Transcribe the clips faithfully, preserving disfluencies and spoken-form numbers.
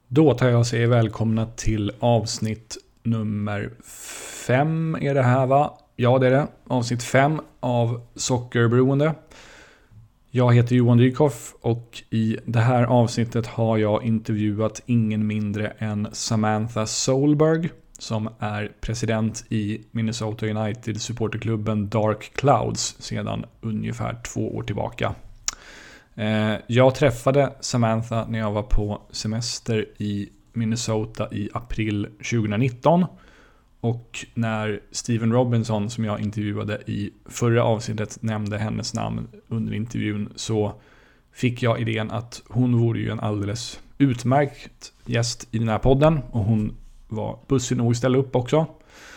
Då tar jag och säger välkomna till avsnitt nummer fem är det här va? Ja det är det. Avsnitt fem av Sockerberoende. Jag heter Johan Dykhoff och i det här avsnittet har jag intervjuat ingen mindre än Samantha Solberg som är president i Minnesota United supporterklubben Dark Clouds sedan ungefär två år tillbaka. Jag träffade Samantha när jag var på semester i Minnesota i april tjugonitton. Och när Steven Robinson som jag intervjuade i förra avsnittet nämnde hennes namn under intervjun så fick jag idén att hon vore ju en alldeles utmärkt gäst i den här podden. Och hon var bussig nog att ställa upp också.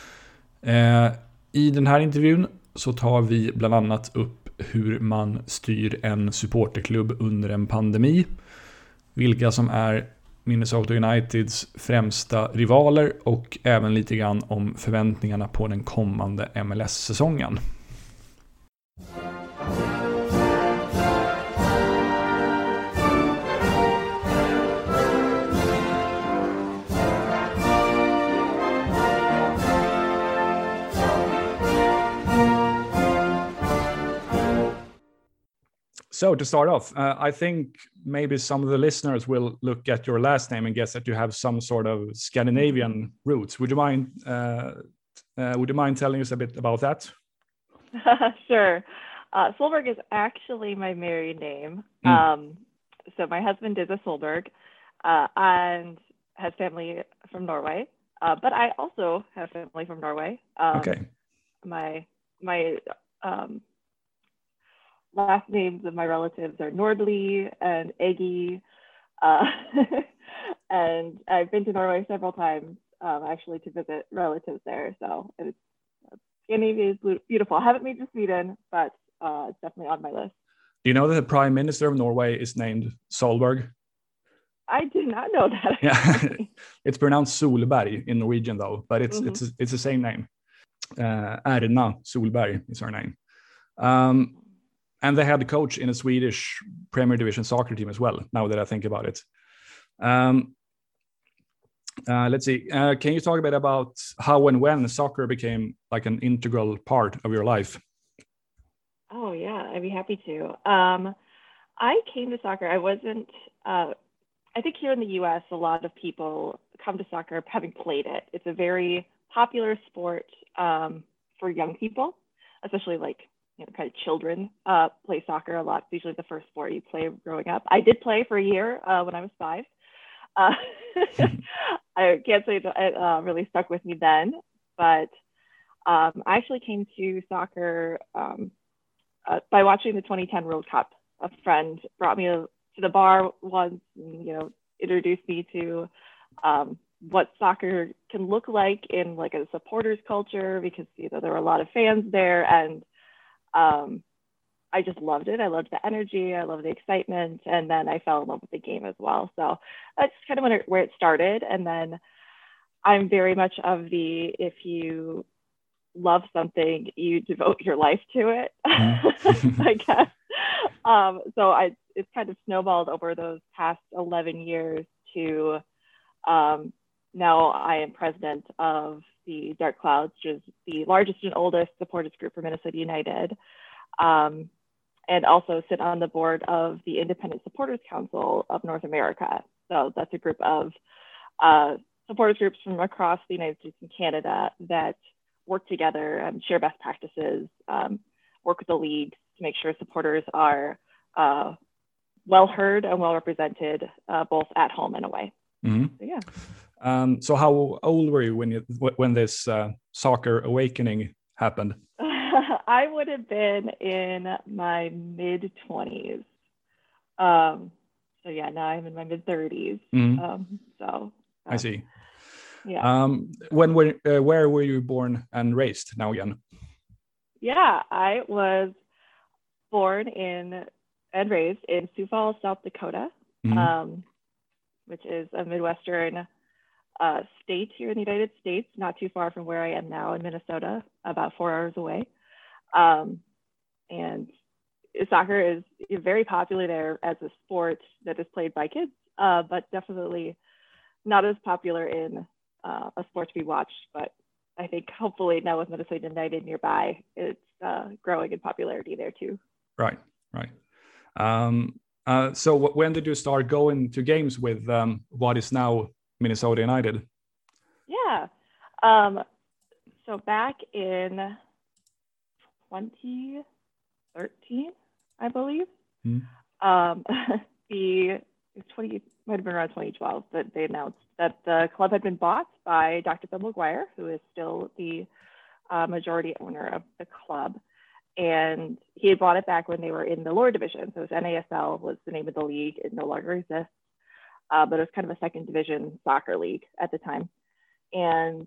I den här intervjun så tar vi bland annat upp hur man styr en supporterklubb under en pandemi. Vilka som är Minnesota Uniteds främsta rivaler och även lite grann om förväntningarna på den kommande M L S-säsongen. So to start off, uh, I think maybe some of the listeners will look at your last name and guess that you have some sort of Scandinavian roots. Would you mind? Uh, uh, would you mind telling us a bit about that? Sure. Uh, Solberg is actually my married name. Mm. Um, so my husband is a Solberg uh, and has family from Norway, uh, but I also have family from Norway. Um, okay. My my um, last names of my relatives are Nordli and Eggy. Uh, and I've been to Norway several times, um, actually to visit relatives there. So it's, Scandinavia is beautiful. I haven't been to Sweden, but uh, it's definitely on my list. Do you know that the Prime Minister of Norway is named Solberg? I did not know that. Yeah, it's pronounced Solberg in Norwegian though, but it's Mm-hmm. it's it's the same name. Uh, Erna Solberg is her name. Um, And they had a coach in a Swedish Premier Division soccer team as well, now that I think about it. Um, uh, let's see. Uh, can you talk a bit about how and when soccer became like an integral part of your life? Oh, yeah, I'd be happy to. Um, I came to soccer. I wasn't, uh, I think here in the U S, a lot of people come to soccer having played it. It's a very popular sport um, for young people, especially like you know, kind of children uh, play soccer a lot. It's usually the first sport you play growing up. I did play for a year uh, when I was five. Uh, I can't say that it uh, really stuck with me then, but um, I actually came to soccer um, uh, by watching the twenty ten World Cup. A friend brought me to the bar once, and, you know, introduced me to um, what soccer can look like in like a supporters culture, because you know there were a lot of fans there, and Um, I just loved it. I loved the energy. I loved the excitement. And then I fell in love with the game as well. So that's kind of when it, where it started. And then I'm very much of the, if you love something, you devote your life to it, mm-hmm. I guess. Um, so I, it's kind of snowballed over those past eleven years to um, now I am president of the Dark Clouds, which is the largest and oldest supporters group for Minnesota United, um, and also sit on the board of the Independent Supporters Council of North America. So that's a group of uh, supporters groups from across the United States and Canada that work together and share best practices, um, work with the leagues to make sure supporters are uh, well heard and well represented, uh, both at home and away. Mm-hmm. So, yeah. Um, so how old were you when you when this uh, soccer awakening happened? I would have been in my mid twenties. Um, so yeah, now I'm in my mid thirties. Mm-hmm. Um, so um, I see. Yeah. Um, when were uh, where were you born and raised? Now again. Yeah, I was born in and raised in Sioux Falls, South Dakota, mm-hmm. um, which is a Midwestern uh, state here in the United States, not too far from where I am now in Minnesota, about four hours away. Um, and soccer is very popular there as a sport that is played by kids, uh, but definitely not as popular in uh, a sport to be watched, but I think hopefully now with Minnesota United nearby, it's uh, growing in popularity there too. Right, right. Um, uh, so w- when did you start going to games with um, what is now Minnesota United? Yeah. Um, so back in twenty thirteen, I believe, Mm. um, the twenty might have been around twenty twelve that they announced that the club had been bought by Doctor Bill McGuire, who is still the uh, majority owner of the club. And he had bought it back when they were in the lower division. So it was N A S L was the name of the league. It no longer exists, uh, but it was kind of a second division soccer league at the time. And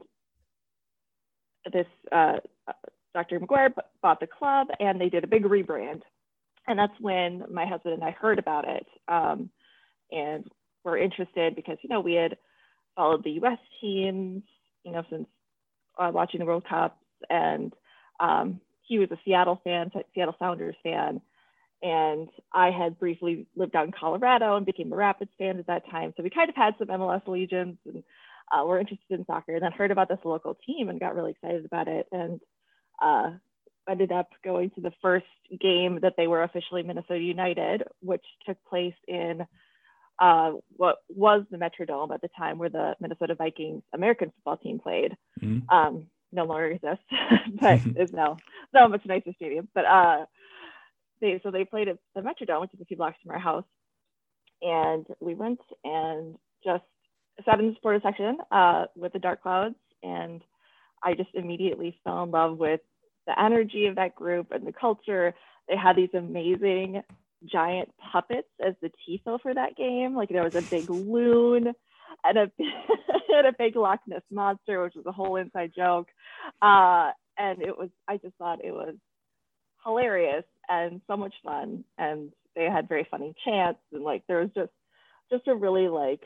this uh, Doctor McGuire bought the club, and they did a big rebrand. And that's when my husband and I heard about it, um, and were interested because, you know, we had followed the U S teams, you know, since uh, watching the World Cups, and um, he was a Seattle fan, Seattle Sounders fan, and I had briefly lived out in Colorado and became a Rapids fan at that time. So we kind of had some M L S allegiance, and uh, were interested in soccer, and then heard about this local team and got really excited about it, and uh, ended up going to the first game that they were officially Minnesota United, which took place in uh, what was the Metrodome at the time, where the Minnesota Vikings American football team played. Mm. Um, no longer exists, but is now so much nicer stadium. But uh, they so they played at the Metrodome, which is a few blocks from our house, and we went and just sat in the supporter section uh, with the Dark Clouds, and I just immediately fell in love with the energy of that group and the culture. They had these amazing giant puppets as the tifo for that game. Like there was a big loon and a, and a big Loch Ness monster, which was a whole inside joke. Uh, and it was, I just thought it was hilarious and so much fun. And they had very funny chants, and like there was just, just a really like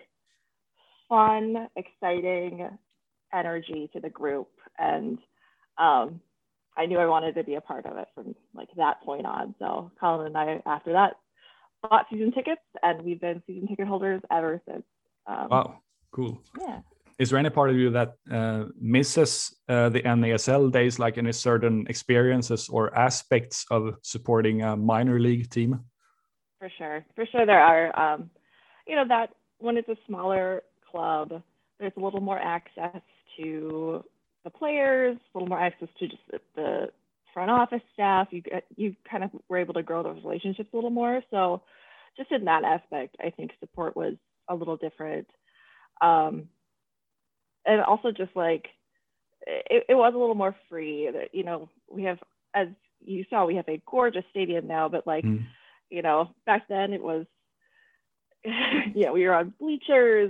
fun, exciting energy to the group. And um, I knew I wanted to be a part of it from like that point on. So Colin and I, after that, bought season tickets, and we've been season ticket holders ever since. Um, Wow, cool. Yeah. Is there any part of you that uh, misses uh, the N A S L days, like any certain experiences or aspects of supporting a minor league team? For sure. For sure there are. Um, you know, that when it's a smaller club, there's a little more access to the players, a little more access to just the front office staff. You you kind of were able to grow those relationships a little more. So just in that aspect, I think support was a little different. Um, and also just like, it, it was a little more free. That, you know, we have, as you saw, we have a gorgeous stadium now, but like, mm. you know, back then it was, yeah, we were on bleachers.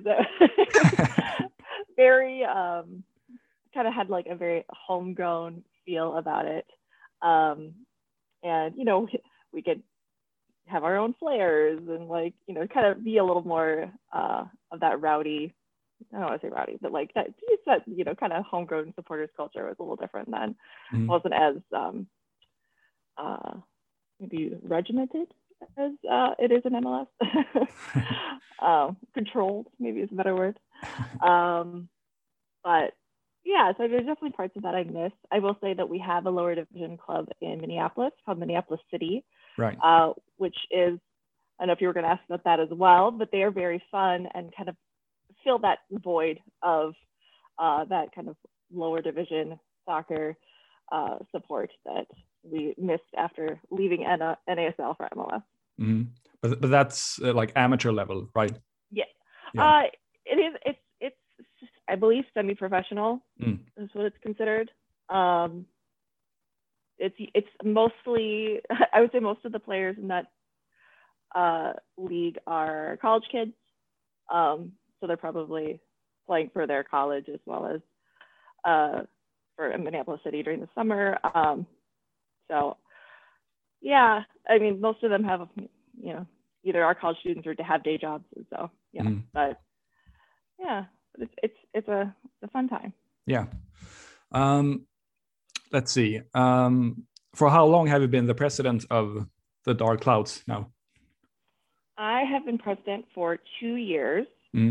Very, um, kind of had like a very homegrown feel about it. Um, and, you know, we could have our own flares and like, you know, kind of be a little more uh, of that rowdy, I don't want to say rowdy, but like that, that you know, kind of homegrown supporters culture was a little different then. Mm-hmm. Wasn't as um, uh, maybe regimented as uh, it is in M L S. um, controlled, maybe is a better word. Um, but yeah, so there's definitely parts of that I miss. I will say that we have a lower division club in Minneapolis called Minneapolis City, right? Uh, which is, I don't know if you were going to ask about that as well, but they are very fun and kind of fill that void of uh, that kind of lower division soccer uh, support that we missed after leaving N A S L for M L S. Mm-hmm. But but that's uh, like amateur level, right? Yeah, yeah. Uh, it is. It's it's I believe semi-professional mm. is what it's considered. Um, it's it's mostly, I would say most of the players in that uh, league are college kids. Um, so they're probably playing for their college as well as uh, for Minneapolis City during the summer. Um, so yeah, I mean, most of them have, you know, either are college students or to have day jobs. And so yeah, mm. but yeah, it's it's it's a it's a fun time. Yeah. Um, let's see. Um, for how long have you been the president of the Dark Clouds now? I have been president for two years. Mm.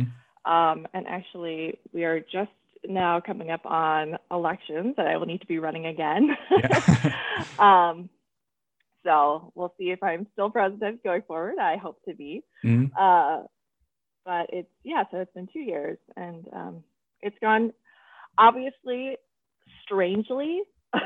Um, and actually, we are just now coming up on elections that I will need to be running again. Yeah. um, so we'll see if I'm still president going forward. I hope to be. Mm. Uh, but it's, yeah, so it's been two years and um, it's gone obviously strangely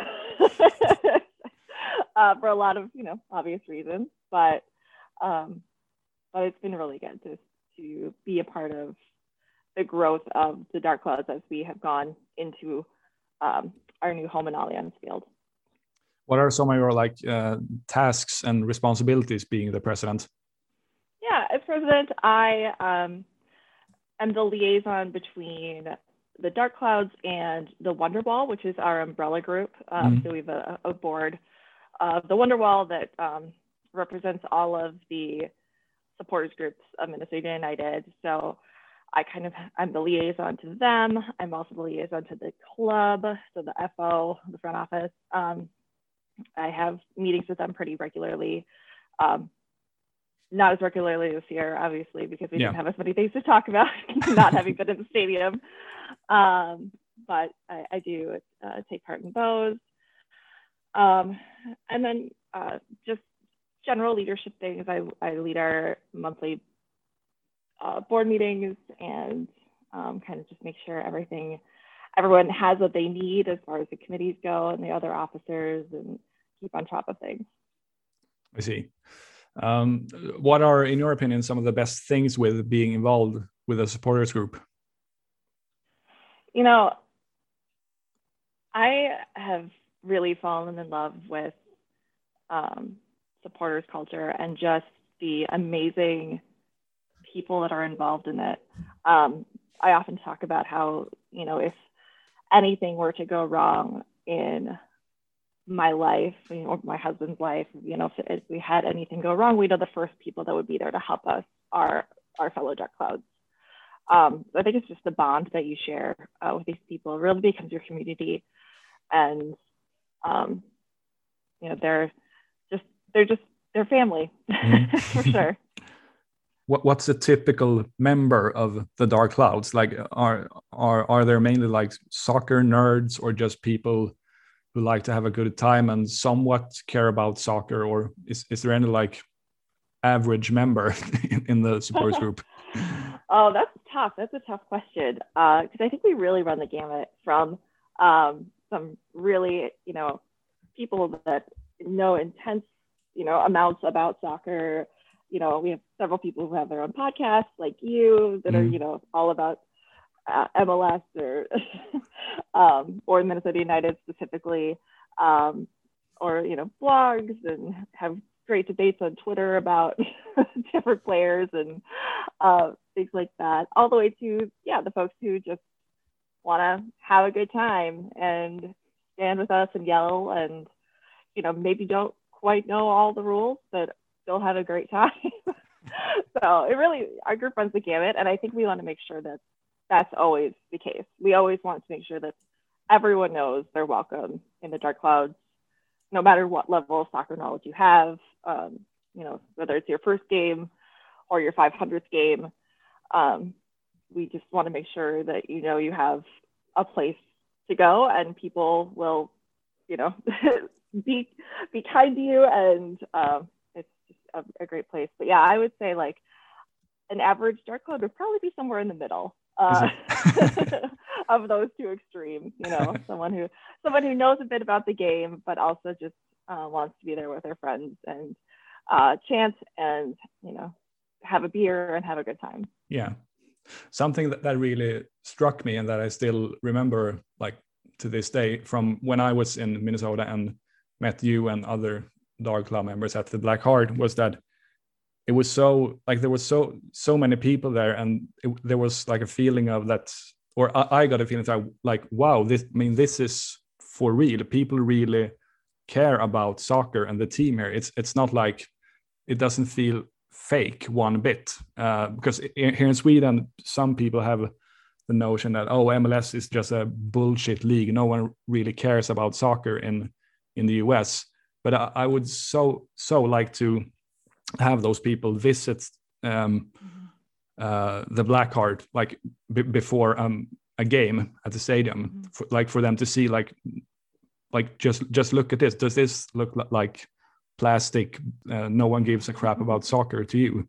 uh, for a lot of, you know, obvious reasons, but um, but it's been really good to, to be a part of the growth of the Dark Clouds as we have gone into um, our new home in Allianz Field. What are some of your like uh, tasks and responsibilities being the president? Yeah, as president, I um, am the liaison between the Dark Clouds and the Wonderwall, which is our umbrella group. Um, mm. So we have a, a board of the Wonderwall that um, represents all of the supporters groups of Minnesota United. So I kind of, I'm the liaison to them. I'm also the liaison to the club, so the F O, the front office. Um, I have meetings with them pretty regularly. Um, not as regularly this year, obviously, because we yeah. didn't have as many things to talk about, not having been in the stadium. Um, but I, I do uh, take part in those. Um, and then uh, just general leadership things. I, I lead our monthly uh, board meetings and um, kind of just make sure everything, everyone has what they need as far as the committees go and the other officers, and keep on top of things. I see. Um, what are, in your opinion, some of the best things with being involved with a supporters group? You know, I have really fallen in love with um, supporters culture and just the amazing people that are involved in it. Um, I often talk about how, you know, if anything were to go wrong in my life, you know, or my husband's life, you know, if, if we had anything go wrong, we know the first people that would be there to help us are our fellow Dark Clouds. Um, I think it's just the bond that you share uh, with these people. It really becomes your community, and um, you know, they're just they're just they're family mm-hmm. for sure. What what's a typical member of the Dark Clouds? Like, are are are there mainly like soccer nerds, or just people who like to have a good time and somewhat care about soccer, or is is there any like average member in, in the supporters group? Oh, that's tough. That's a tough question because uh, I think we really run the gamut from um, some really, you know, people that know intense, you know, amounts about soccer. You know, we have several people who have their own podcasts, like you, that mm. are, you know, all about uh, M L S or um, or Minnesota United specifically, um, or you know, blogs and have great debates on Twitter about different players and uh, things like that, all the way to, yeah, the folks who just want to have a good time and stand with us and yell and, you know, maybe don't quite know all the rules, but still have a great time. So it really, our group runs the gamut. And I think we want to make sure that that's always the case. We always want to make sure that everyone knows they're welcome in the Dark Clouds, no matter what level of soccer knowledge you have, um, you know, whether it's your first game or your five hundredth game. Um, we just want to make sure that, you know, you have a place to go and people will, you know, be be kind to you, and um, it's just a, a great place. But yeah, I would say like an average Dark Cloud would probably be somewhere in the middle uh, of those two extremes. You know, someone who someone who knows a bit about the game, but also just uh, wants to be there with their friends and uh, chant and, you know, have a beer and have a good time. Yeah. Something that, that really struck me and that I still remember, like to this day, from when I was in Minnesota and met you and other Dark Cloud members at the Black Heart, was that it was so, like there was so so many people there, and it, there was like a feeling of that, or I, I got a feeling that I, like, wow, this, I mean, this is for real. People really care about soccer and the team here. It's it's not like, it doesn't feel fake one bit, uh, because here in Sweden, some people have the notion that, oh, M L S is just a bullshit league. No one really cares about soccer in in the U S. But I, I would so so like to have those people visit um, uh, the black card like b- before um, a game at the stadium, mm-hmm. for, like for them to see like like just just look at this. Does this look like plastic? Uh, no one gives a crap about soccer to you.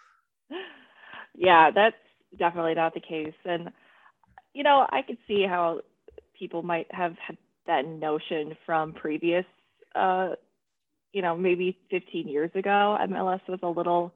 Yeah, that's definitely not the case. And you know, I could see how people might have had that notion from previous, uh, you know, maybe fifteen years ago. M L S was a little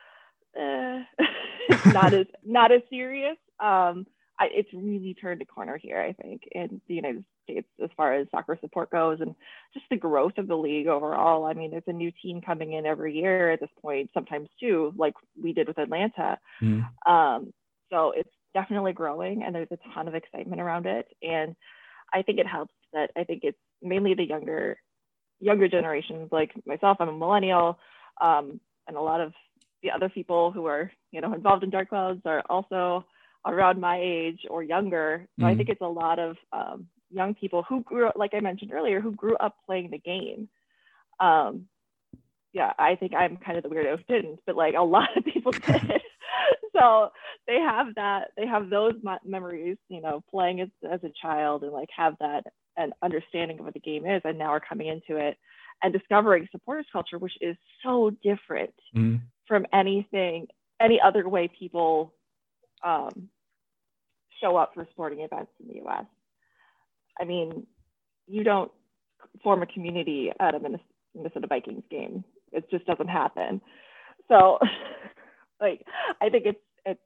uh, not as not as serious. Um, I, it's really turned a corner here, I think, in the United States as far as soccer support goes, and just the growth of the league overall. I mean, there's a new team coming in every year at this point, sometimes two, like we did with Atlanta. Mm. Um, so it's definitely growing, and there's a ton of excitement around it. And I think it helps that I think it's mainly the younger younger generations, like myself. I'm a millennial, um, and a lot of the other people who are, you know, involved in Dark Clouds are also around my age or younger. So mm-hmm. I think it's a lot of um, young people who grew up, like I mentioned earlier, who grew up playing the game. Um, yeah, I think I'm kind of the weirdo who didn't, but like a lot of people did. So they have that, they have those memories, you know, playing as, as a child, and like have that an understanding of what the game is, and now are coming into it and discovering supporters culture, which is so different mm-hmm. from anything, any other way people um, show up for sporting events in the U S. I mean, you don't form a community at a Minnesota Vikings game. It just doesn't happen. So like, I think it's, it's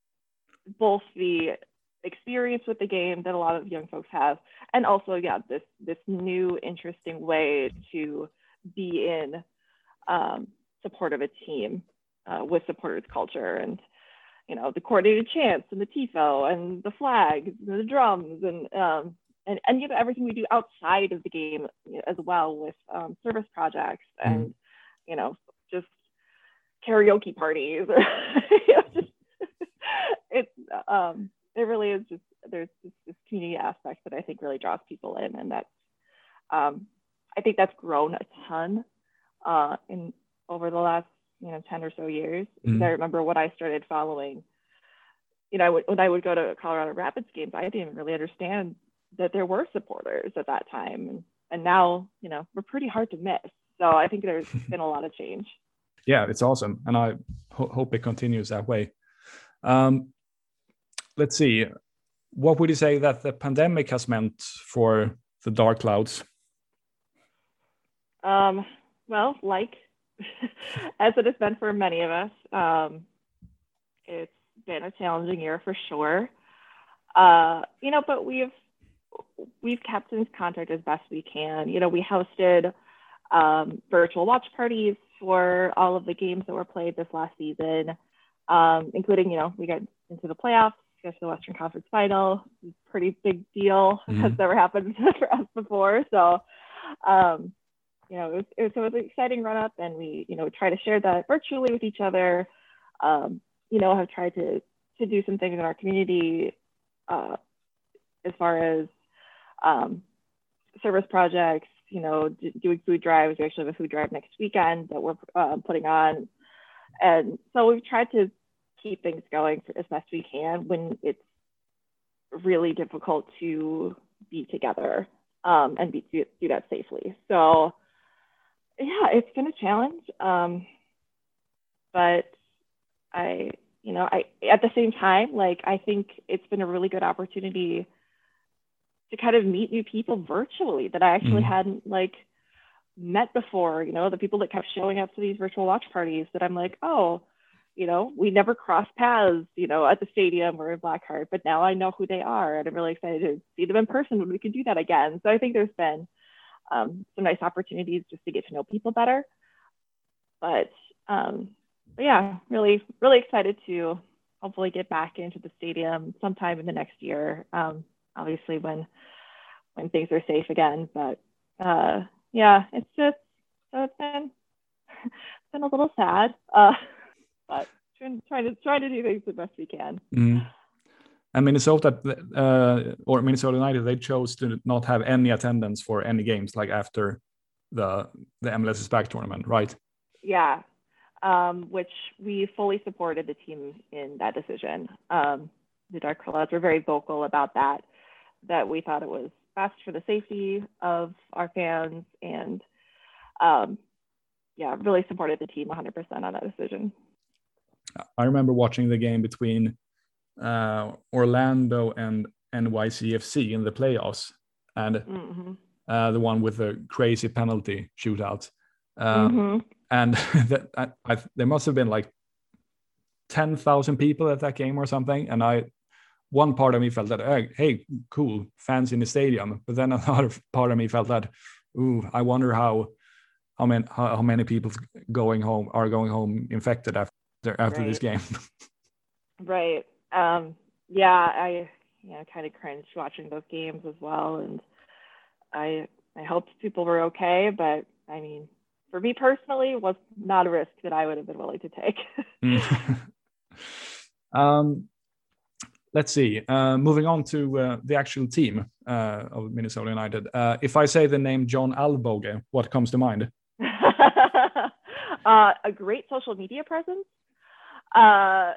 both the experience with the game that a lot of young folks have, and also, yeah, this, this new interesting way to be in um, support of a team uh, with supporters culture, and, you know, the coordinated chants and the tifo and the flags and the drums, and, um, and, and, you know, everything we do outside of the game as well, with um, service projects and, mm. you know, just karaoke parties. you know, just, it's, um, it really is just, there's this, this community aspect that I think really draws people in. And that's, um, I think that's grown a ton uh, in over the last, you know, ten or so years. Mm-hmm. I remember when I started following, you know, I would, when I would go to Colorado Rapids games, I didn't even really understand that there were supporters at that time. And, and now, you know, we're pretty hard to miss. So I think there's been a lot of change. Yeah, it's awesome. And I ho- hope it continues that way. Um, let's see. What would you say that the pandemic has meant for the Dark Clouds? Um, well, like, as it has been for many of us, um, it's been a challenging year for sure. Uh, you know, but we've we've kept in contact as best we can. You know, we hosted um, virtual watch parties for all of the games that were played this last season, um, including, you know, we got into the playoffs, got to the Western Conference Final. Pretty big deal. Mm-hmm. Has never happened for us before. So, um, you know, it was, it was, it was an exciting run up, and we, you know, try to share that virtually with each other. Um, you know, have tried to to do some things in our community uh, as far as um, service projects, you know, d- doing food drives. We actually have a food drive next weekend that we're uh, putting on. And so we've tried to keep things going for as best we can when it's really difficult to be together um, and be, do, do that safely. So yeah, it's been a challenge. Um, but I, you know, I, at the same time, like, I think it's been a really good opportunity to kind of meet new people virtually that I actually mm. hadn't like met before, you know, the people that kept showing up to these virtual watch parties that I'm like, oh, you know, we never crossed paths, you know, at the stadium or in Blackheart, but now I know who they are, and I'm really excited to see them in person when we can do that again. So I think there's been um, some nice opportunities just to get to know people better. But, um, but yeah, really, really excited to hopefully get back into the stadium sometime in the next year. Um, obviously when, when things are safe again, but uh, yeah, it's just, so it's been, it's been a little sad, uh, but trying, trying to try to do things the best we can. Mm. And Minnesota, uh, or Minnesota United, they chose to not have any attendance for any games, like after the the M L S is Back tournament, right? Yeah, um, which we fully supported the team in that decision. Um, the Dark Clouds were very vocal about that, that we thought it was best for the safety of our fans, and um, yeah, really supported the team one hundred percent on that decision. I remember watching the game between uh, Orlando and N Y C F C in the playoffs, and mm-hmm. uh, the one with the crazy penalty shootout. Um, mm-hmm. And that, I, I, there must have been like ten thousand people at that game or something. And I, one part of me felt that, hey, hey, cool, fans in the stadium. But then another part of me felt that, ooh, I wonder how how many how, how many people going home are going home infected after after right. this game. Right. Um, yeah, I you know kind of cringed watching those games as well, and I I hoped people were okay, but I mean, for me personally, it was not a risk that I would have been willing to take. um, let's see. Uh, moving on to uh, the actual team uh, of Minnesota United. Uh, if I say the name John Alvbåge, what comes to mind? uh, a great social media presence. Uh,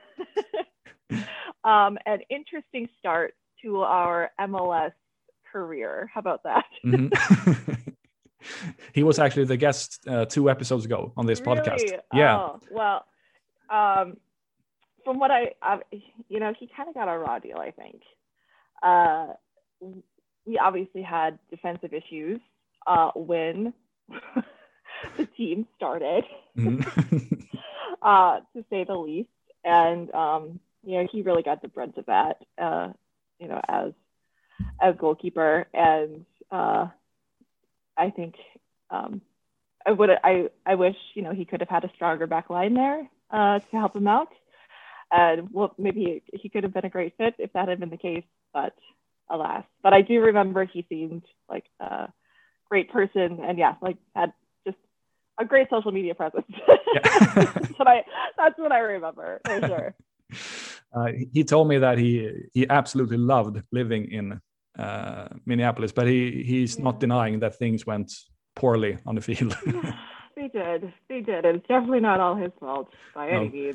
um, an interesting start to our M L S career. How about that? Mm-hmm. He was actually the guest uh, two episodes ago on this really? podcast. Yeah. Oh, well, um, from what I, uh, you know, he kind of got a raw deal, I think. Uh, we obviously had defensive issues uh, when the team started, mm-hmm. uh, to say the least. And, um, you know, he really got the brunt of that, uh, you know, as as goalkeeper. And uh, I think um, I would I I wish you know he could have had a stronger back line there uh, to help him out. And well, maybe he could have been a great fit if that had been the case, but alas. But I do remember he seemed like a great person, and yeah, like had just a great social media presence. Yeah. that's what I that's what I remember for sure. Uh, he told me that he he absolutely loved living in uh, Minneapolis, but he he's yeah. not denying that things went poorly on the field. They did, they did, and it's definitely not all his fault by no. any means.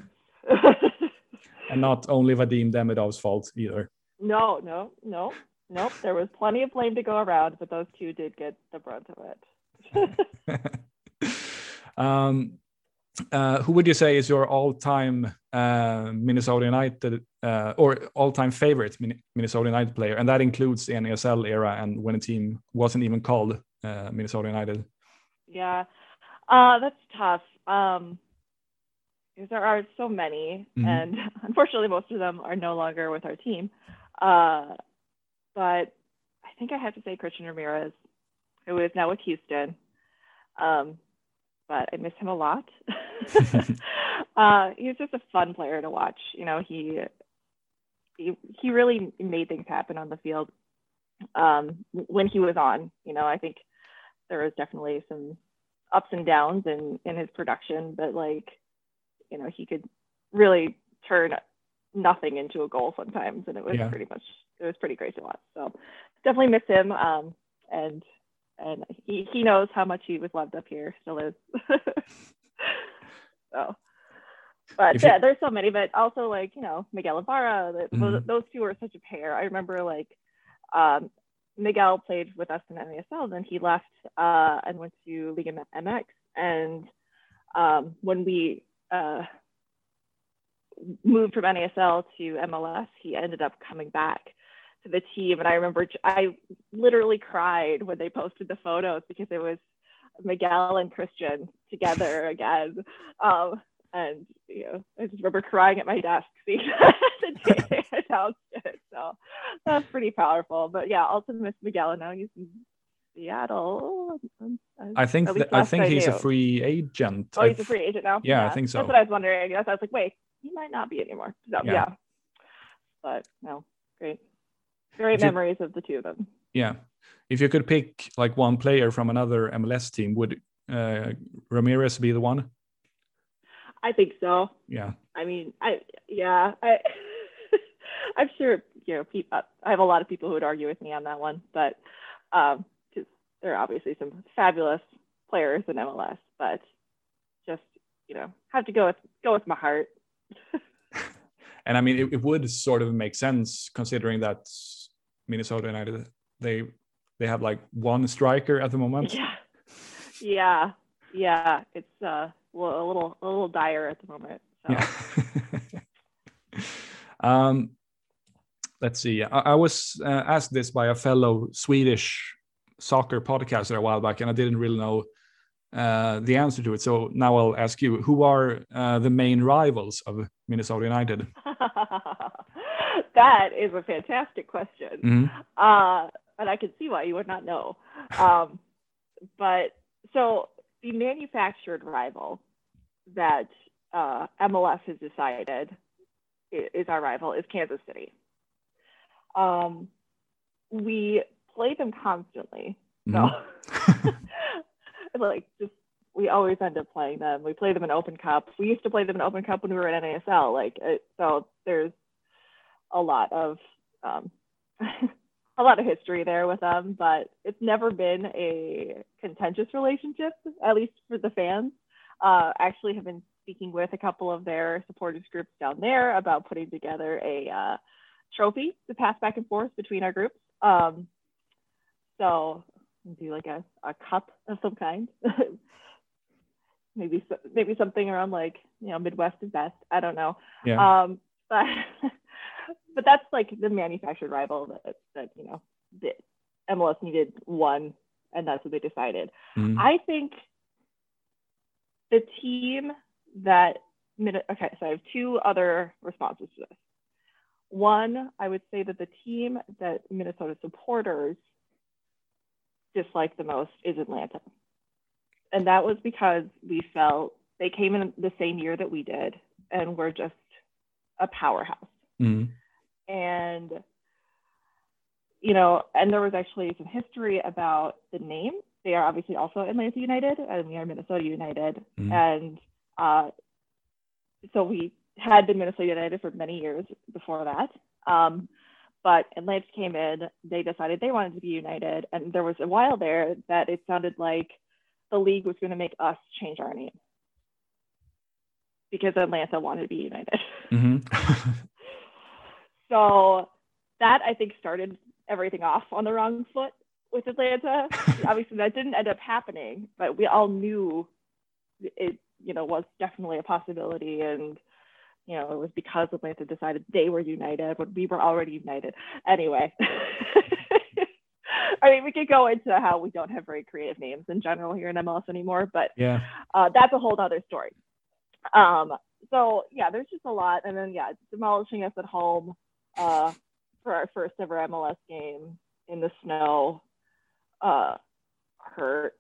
And not only Vadim Demidov's fault either. No, no, no, no. There was plenty of blame to go around, but those two did get the brunt of it. um, uh, who would you say is your all-time uh, Minnesota United uh, or all-time favorite Minnesota United player? And that includes the N A S L era and when a team wasn't even called uh, Minnesota United. Yeah, uh, that's tough. Um, because there are so many, mm-hmm. and unfortunately most of them are no longer with our team. Uh, but I think I have to say Christian Ramirez, who is now with Houston. Um, but I miss him a lot. uh, he's just a fun player to watch. You know, he he, he really made things happen on the field um, when he was on. You know, I think there was definitely some ups and downs in, in his production, but like, you know, he could really turn nothing into a goal sometimes, and it was yeah. pretty much it was pretty great to watch. So definitely miss him, um, and and he, he knows how much he was loved up here, still is. So, but yeah, there's so many, but also like you know Miguel Ibarra, the, mm-hmm. those, those two were such a pair. I remember like um, Miguel played with us in N A S L, then he left uh, and went to Liga M X, and um, when we Uh, moved from N A S L to M L S, he ended up coming back to the team. And I remember I literally cried when they posted the photos because it was Miguel and Christian together again. Um, and, you know, I just remember crying at my desk seeing the day they announced it. So that's pretty powerful. But yeah, also miss Miguel, and now he's in Seattle. I think th- I think I he's knew. a free agent. Oh, he's a free agent now? Yeah, yeah, I think so. That's what I was wondering. I was like, wait, he might not be anymore. So, yeah. yeah. But no, great. Great if memories you, of the two of them. Yeah. If you could pick like one player from another M L S team, would uh, Ramirez be the one? I think so. Yeah. I mean, I yeah, I I'm sure you know people, I have a lot of people who would argue with me on that one, but um there are obviously some fabulous players in M L S, but just, you know, have to go with go with my heart. And I mean, it, it would sort of make sense considering that Minnesota United, they they have like one striker at the moment. Yeah, yeah, yeah. It's uh, a little a little dire at the moment. So. Yeah. um, let's see. I, I was uh, asked this by a fellow Swedish soccer podcaster a while back, and I didn't really know uh, the answer to it. So now I'll ask you: who are uh, the main rivals of Minnesota United? That is a fantastic question, mm-hmm. uh, and I can see why you would not know. Um, but so the manufactured rival that uh, M L S has decided is our rival is Kansas City. Um, we play them constantly, so mm-hmm. like just we always end up playing them. We play them in Open Cup. We used to play them in Open Cup when we were in N A S L. Like it, so, there's a lot of um, a lot of history there with them, but it's never been a contentious relationship, at least for the fans. Uh, actually, have been speaking with a couple of their supporters groups down there about putting together a uh, trophy to pass back and forth between our groups. Um, so do like a, a cup of some kind. maybe maybe something around like, you know, Midwest is best. I don't know. Yeah. Um, but but that's like the manufactured rival that, that you know, the M L S needed one, and that's what they decided. Mm. I think the team that, okay, so I have two other responses to this. One, I would say that the team that Minnesota supporters dislike the most is Atlanta. And that was because we felt they came in the same year that we did, and we're just a powerhouse. Mm-hmm. And, you know, and there was actually some history about the name. They are obviously also Atlanta United, and we are Minnesota United. Mm-hmm. And uh, so we had been Minnesota United for many years before that. Um, but Atlanta came in, they decided they wanted to be United. And there was a while there that it sounded like the league was going to make us change our name because Atlanta wanted to be United. Mm-hmm. So that, I think, started everything off on the wrong foot with Atlanta. Obviously, that didn't end up happening, but we all knew it, you know, was definitely a possibility. And, you know, it was because Atlanta decided they were united when we were already united. Anyway, I mean, we could go into how we don't have very creative names in general here in M L S anymore, but yeah, uh, that's a whole other story. Um, so yeah, there's just a lot. And then, yeah, demolishing us at home uh, for our first ever M L S game in the snow uh, hurt.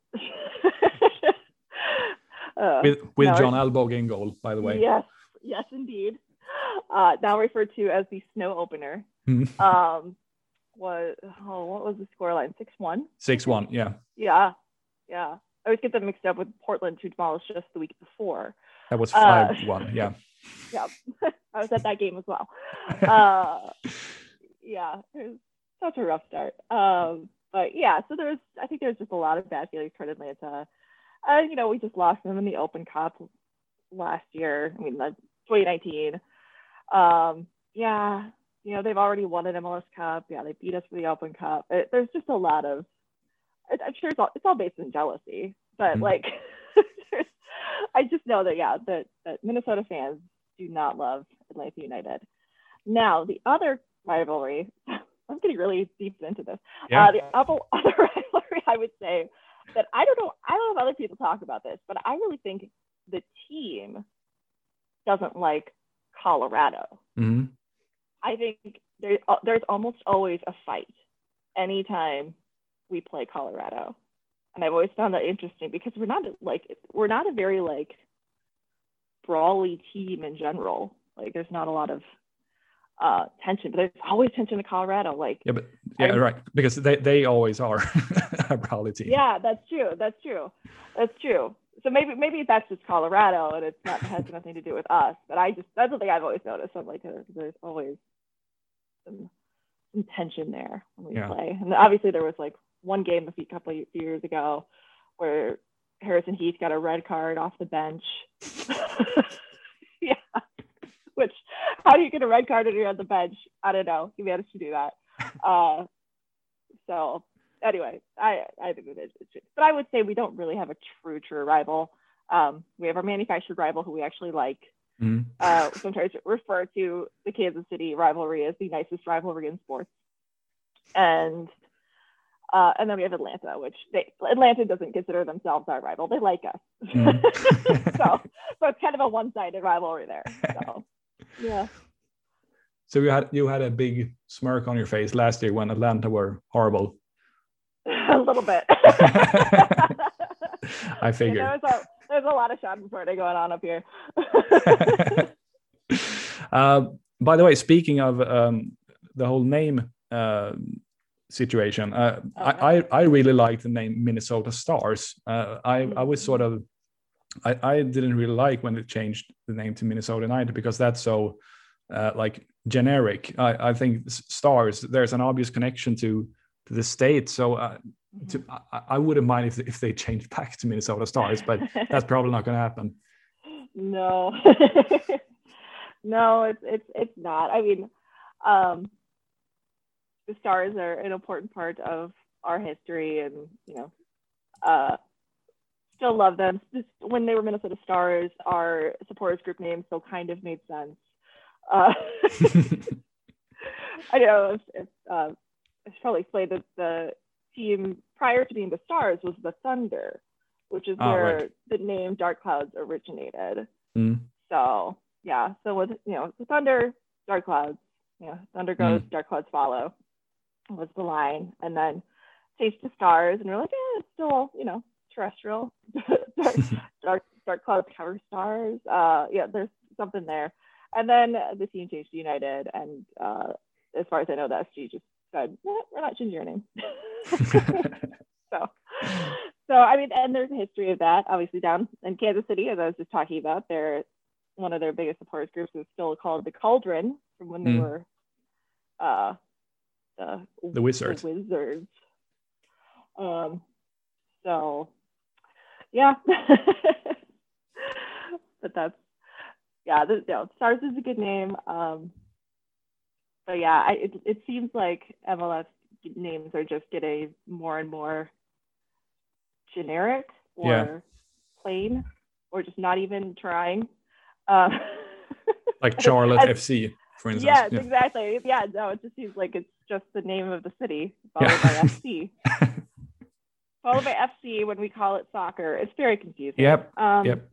uh, with with John Alvbåge in goal, by the way. Yes, yes, indeed. Uh, now referred to as the snow opener. um, was oh, what was the scoreline? six one six one yeah. Yeah, yeah. I always get them mixed up with Portland, who demolished us the week before. That was five one uh, yeah. Yeah, I was at that game as well. Uh, yeah, it was such a rough start. Um, but yeah, so there's, I think there's just a lot of bad feelings toward Atlanta. Uh, you know, we just lost them in the Open Cup last year. I mean, twenty nineteen. Um, yeah, you know, they've already won an M L S Cup. Yeah, they beat us for the Open Cup. It, there's just a lot of, I'm sure it's all, it's all based in jealousy, but mm-hmm. like, I just know that, yeah, that, that Minnesota fans do not love Atlanta United. Now, the other rivalry, I'm getting really deep into this. Yeah. Uh, the other, other rivalry, I would say that I don't know, I don't know if other people talk about this, but I really think the team doesn't like Colorado. Mm-hmm. I think there, there's almost always a fight anytime we play Colorado. And I've always found that interesting because we're not like, we're not a very like brawly team in general. Like there's not a lot of uh, tension, but there's always tension in Colorado. Like, yeah, but yeah, I'm, right. Because they, they always are a brawly team. Yeah, that's true. That's true. That's true. So maybe, maybe that's just Colorado and it's not, has nothing to do with us, but I just, that's something I've always noticed. I'm like, there's always some, some tension there when we yeah. play. And obviously there was like one game a few couple of years ago where Harrison Heath got a red card off the bench. Yeah. Which, how do you get a red card when you're on the bench? I don't know. He managed to do that. Uh, so anyway, I, I think it is. But I would say we don't really have a true, true rival. Um, we have our manufactured rival who we actually like. Mm. Uh, sometimes refer to the Kansas City rivalry as the nicest rivalry in sports. And uh, and then we have Atlanta, which they, Atlanta doesn't consider themselves our rival. They like us. Mm. so, so it's kind of a one-sided rivalry there. So, yeah. So you had you had a big smirk on your face last year when Atlanta were horrible. A little bit. I figured. Yeah, there was a, there's a lot of Schadenfreude going on up here. uh, by the way, speaking of um, the whole name uh, situation, uh, oh, I, I I really like the name Minnesota Stars. Uh, I mm-hmm. I was sort of I, I didn't really like when they changed the name to Minnesota United because that's so uh, like generic. I, I think Stars, there's an obvious connection to to the state, so. Uh, To, I, I wouldn't mind if if they changed back to Minnesota Stars, but that's probably not going to happen. No, no, it's it's it's not. I mean, um, the Stars are an important part of our history, and you know, uh, still love them. Just when they were Minnesota Stars, our supporters group name still kind of made sense. Uh, I know it's, it's uh, I should probably explain that the team prior to being the Stars was the Thunder, which is oh, where right. the name Dark Clouds originated. Mm. So yeah, so with you know the Thunder, Dark Clouds, you know, Thunder goes, mm. Dark Clouds follow was the line, and then changed to Stars, and we're like, yeah, it's still you know terrestrial. dark, dark Dark Clouds cover stars. Uh, yeah, there's something there, and then the team changed to United, and uh, as far as I know, the S G just said, eh, we're not changing your name. so, so I mean, and there's a history of that. Obviously, down in Kansas City, as I was just talking about, they're one of their biggest supporters groups is still called the Cauldron from when they mm. were uh, the, the Wizards. The Wizards. Um. So, yeah. but that's yeah. The, you know, Stars is a good name. Um. But yeah, I, it, it seems like M L S names are just getting more and more generic or yeah. plain, or just not even trying. Um, like Charlotte F C, for instance. Yes, yeah, exactly. Yeah, no, it just seems like it's just the name of the city followed yeah. by F C. Followed by F C when we call it soccer. It's very confusing. Yep. Um, yep.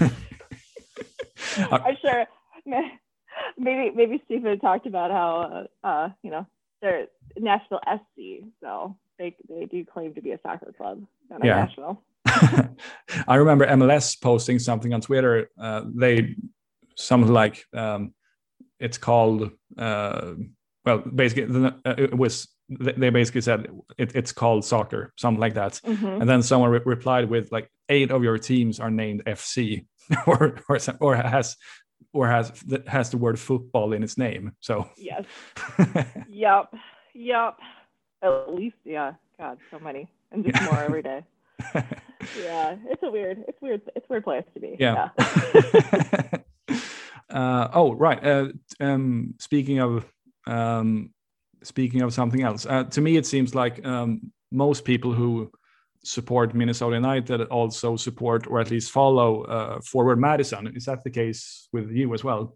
I'm sure. Maybe maybe Stephen talked about how uh, uh you know they're Nashville S C, so they they do claim to be a soccer club down in yeah. Nashville. I remember M L S posting something on Twitter. Uh, they something like um, it's called uh, well basically uh, it was they basically said it, it's called soccer, something like that, mm-hmm. and then someone re- replied with like eight of your teams are named F C or or or has. Or has has the word football in its name. So yes, yep, yep. At least, yeah. God, so many, and just more every day. Yeah, it's a weird, it's weird, it's a weird place to be. Yeah. yeah. uh, oh, right. Uh, um, speaking of um, speaking of something else, uh, to me it seems like um, most people who support Minnesota United also support or at least follow uh, Forward Madison. Is that the case with you as well?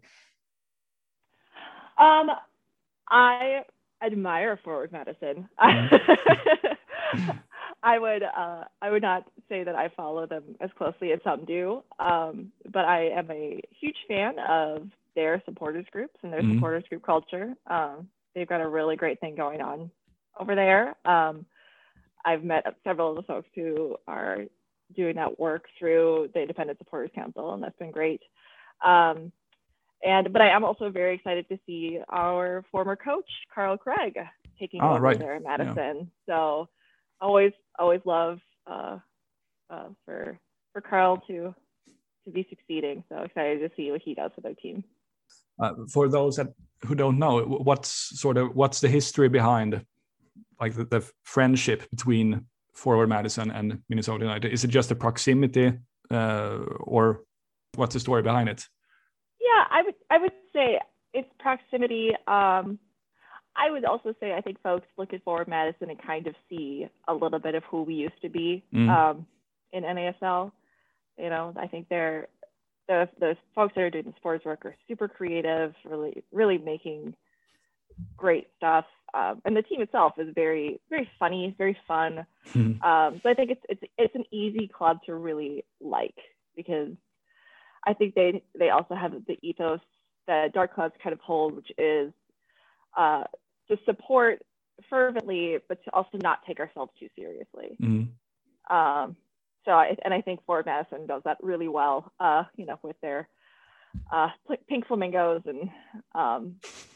Um, I admire Forward Madison. Mm-hmm. I would uh, I would not say that I follow them as closely as some do, um, but I am a huge fan of their supporters groups and their mm-hmm. supporters group culture. Um, they've got a really great thing going on over there. Um, I've met several of the folks who are doing that work through the Independent Supporters Council, and that's been great. Um, and but I am also very excited to see our former coach, Carl Craig, taking oh, over right. there in Madison. Yeah. So always, always love uh, uh, for for Carl to to be succeeding. So excited to see what he does with our team. Uh, for those that who don't know, what's sort of what's the history behind like the, the friendship between Forward Madison and Minnesota United? Is it just the proximity, uh, or what's the story behind it? Yeah, I would I would say it's proximity. Um, I would also say I think folks look at Forward Madison and kind of see a little bit of who we used to be mm. um, in N A S L. You know, I think they're the the folks that are doing the sports work are super creative, really really making great stuff. Um, and the team itself is very very funny, very fun. Mm. Um, so I think it's it's it's an easy club to really like, because I think they they also have the ethos that Dark Clouds kind of hold, which is uh, to support fervently, but to also not take ourselves too seriously. Mm-hmm. Um, so, I, and I think Forward Madison does that really well, uh, you know, with their uh, pink flamingos and um,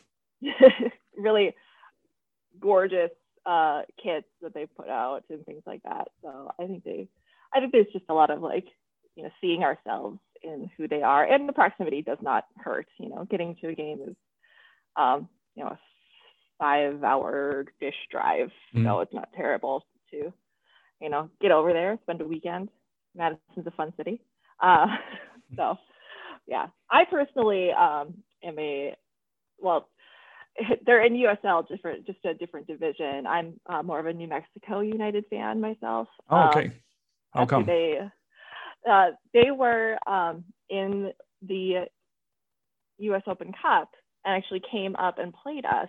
really gorgeous uh, kits that they put out and things like that. So I think they, I think there's just a lot of like, you know, seeing ourselves in who they are, and the proximity does not hurt. You know, getting to a game is, um, you know, a five-hour dish drive, mm. so it's not terrible to, you know, get over there, spend a weekend. Madison's a fun city, uh, so yeah. I personally um, am a well, they're in U S L, different, just a different division. I'm uh, more of a New Mexico United fan myself. Oh, okay. Um, How come? They uh, they were um, in the U S Open Cup and actually came up and played us.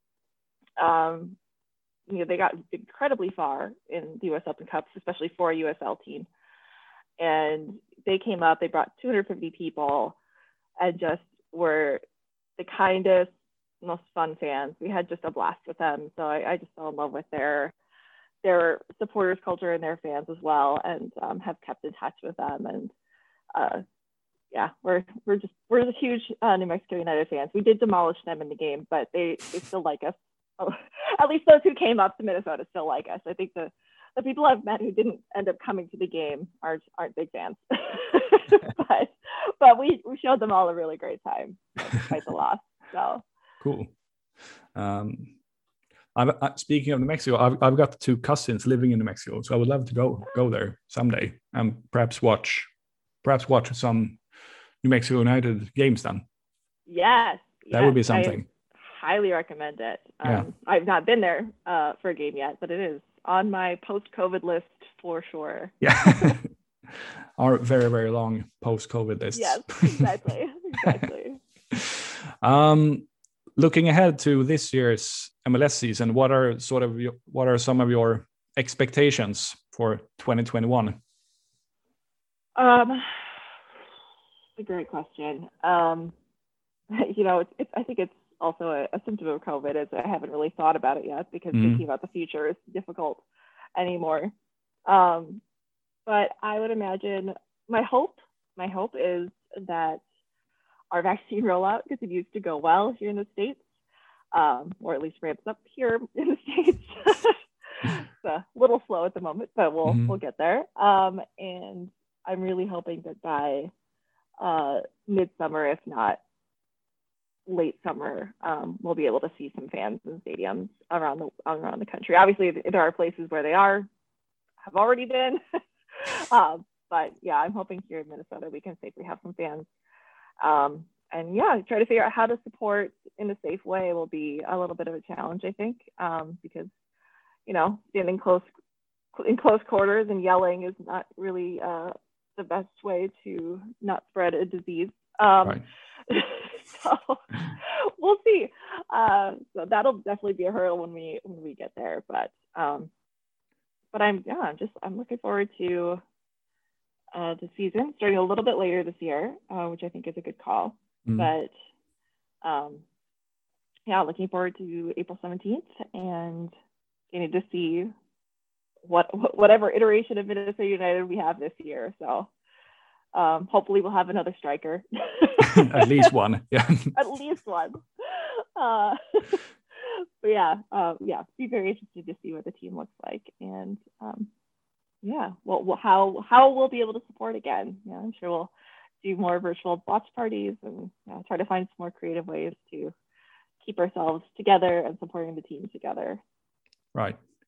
Um, you know, they got incredibly far in the U S Open Cups, especially for a U S L team. And they came up, they brought two hundred fifty people and just were the kindest, most fun fans. We had just a blast with them. So I, I just fell in love with their their supporters culture and their fans as well, and um, have kept in touch with them. And uh, yeah, we're we're just we're the huge uh, New Mexico United fans. We did demolish them in the game, but they they still like us. Oh, at least those who came up to Minnesota still like us. I think the the people I've met who didn't end up coming to the game aren't aren't big fans. but but we we showed them all a really great time despite the loss. So cool. Um, I'm, I, speaking of New Mexico, I've I've got two cousins living in New Mexico, so I would love to go go there someday and perhaps watch perhaps watch some New Mexico United games then. Yes, that yes, would be something. I highly recommend it. Um, yeah. I've not been there uh, for a game yet, but it is on my post-COVID list for sure. Yeah, our very very long post-COVID list. Yes, exactly, exactly. um. Looking ahead to this year's M L S season, what are sort of your, what are some of your expectations for twenty twenty-one? Um, a great question. Um, you know, it's, it's, I think it's also a, a symptom of COVID, is I haven't really thought about it yet, because mm-hmm. thinking about the future is difficult anymore. Um, but I would imagine my hope, my hope is that our vaccine rollout continues to go well here in the States, um, or at least ramps up here in the States. It's a little slow at the moment, but we'll mm-hmm. we'll get there. Um, and I'm really hoping that by uh, midsummer, if not late summer, um, we'll be able to see some fans in stadiums around the around the country. Obviously, there are places where they are have already been, um, but yeah, I'm hoping here in Minnesota we can safely have some fans. Um, and yeah, try to figure out how to support in a safe way will be a little bit of a challenge, I think, um, because, you know, standing close in close quarters and yelling is not really uh, the best way to not spread a disease. Um, right. So we'll see. Uh, so that'll definitely be a hurdle when we when we get there. But um, but I'm yeah, I'm just I'm looking forward to Uh, the season starting a little bit later this year, uh, which I think is a good call. Mm. But um, yeah, looking forward to April seventeenth and getting to see what whatever iteration of Minnesota United we have this year. So um, hopefully we'll have another striker. At least one. Yeah. At least one. Uh, but yeah, uh, yeah, be very interested to see what the team looks like. And um, yeah, well, well, how how we'll be able to support again. Yeah, I'm sure we'll do more virtual watch parties and you know, try to find some more creative ways to keep ourselves together and supporting the team together. Right.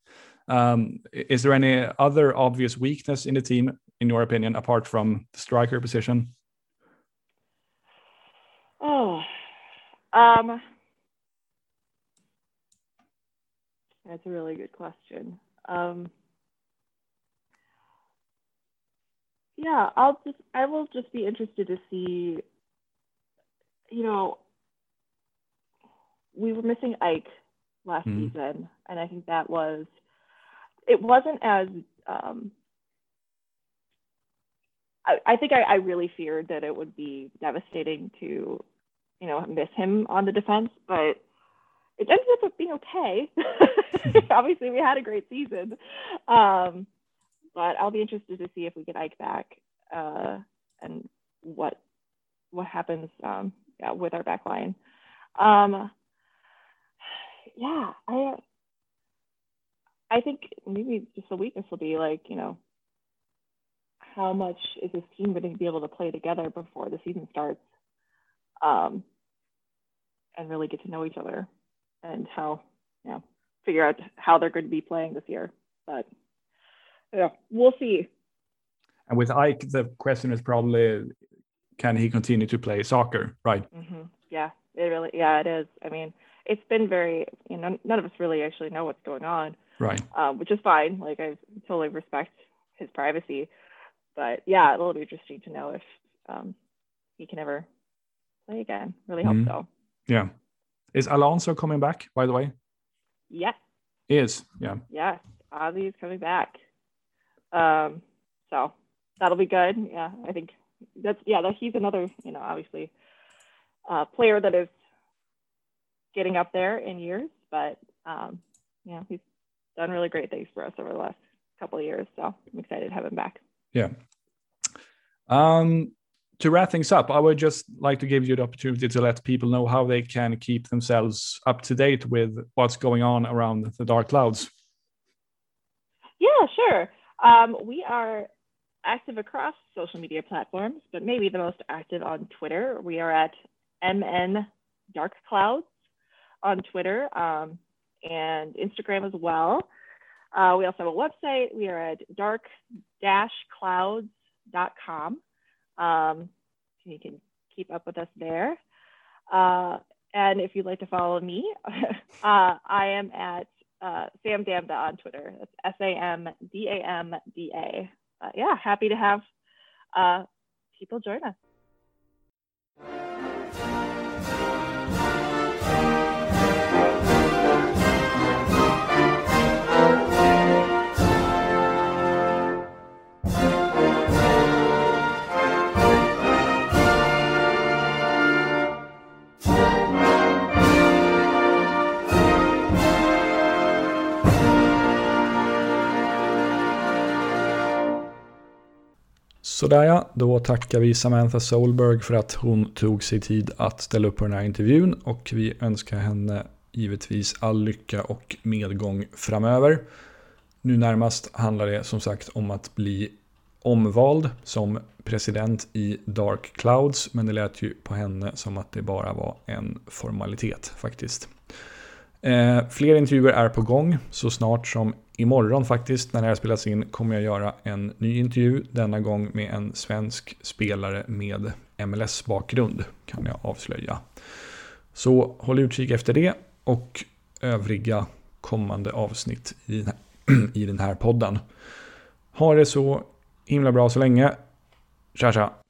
Um, is there any other obvious weakness in the team, in your opinion, apart from the striker position? Oh, um, that's a really good question. Um, yeah, I'll just, I will just be interested to see, you know, we were missing Ike last mm. season, and I think that was, it wasn't as, um, I, I think I, I really feared that it would be devastating to, you know, miss him on the defense, but it ended up being okay. Obviously, we had a great season. Um, but I'll be interested to see if we get Ike back uh, and what what happens um, yeah, with our back line. Um, yeah, I I think maybe just the weakness will be like, you know, how much is this team going to be able to play together before the season starts, um, and really get to know each other and how, you know, figure out how they're going to be playing this year. But yeah, we'll see. And with Ike, the question is probably, can he continue to play soccer, right? Mm-hmm. Yeah, it really, yeah, it is. I mean, it's been very, you know, none of us really actually know what's going on, right? Um, which is fine. Like, I totally respect his privacy, but yeah, it'll be interesting to know if um, he can ever play again. Really hope mm-hmm. so. Yeah. Is Alonso coming back, by the way? Yes. He is, yeah. Yes, Ozzy is coming back. Um, so that'll be good. Yeah, I think that's, yeah, that he's another, you know, obviously uh, player that is getting up there in years, but um, yeah, he's done really great things for us over the last couple of years. So I'm excited to have him back. Yeah. Um, to wrap things up, I would just like to give you the opportunity to let people know how they can keep themselves up to date with what's going on around the Dark Clouds. Yeah, sure. Um, we are active across social media platforms, but maybe the most active on Twitter. We are at M N Dark Clouds on Twitter um, and Instagram as well. Uh, we also have a website. We are at dark dash clouds dot com. Um, you can keep up with us there. Uh, and if you'd like to follow me, uh, I am at uh, Sam Damda on Twitter. That's S A M D A M D A. Uh, yeah, happy to have uh, people join us. Sådär ja, då tackar vi Samantha Solberg för att hon tog sig tid att ställa upp på den här intervjun, och vi önskar henne givetvis all lycka och medgång framöver. Nu närmast handlar det som sagt om att bli omvald som president i Dark Clouds, men det lät ju på henne som att det bara var en formalitet faktiskt. Eh, fler intervjuer är på gång. Så snart som imorgon faktiskt, när det här spelas in, kommer jag göra en ny intervju, denna gång med en svensk spelare med M L S-bakgrund, kan jag avslöja. Så håll utkik efter det och övriga kommande avsnitt i den här, i den här podden. Ha det så himla bra så länge. Tja tja!